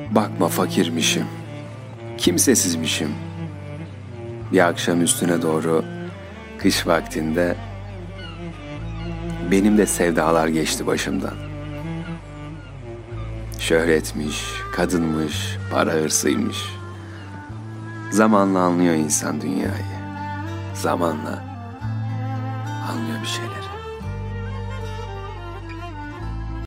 Bakma fakirmişim, kimsesizmişim. Bir akşam üstüne doğru kış vaktinde benim de sevdalar geçti başımdan. Şöhretmiş, kadınmış, para hırsıymış. Zamanla anlıyor insan dünyayı. Zamanla anlıyor bir şeyleri.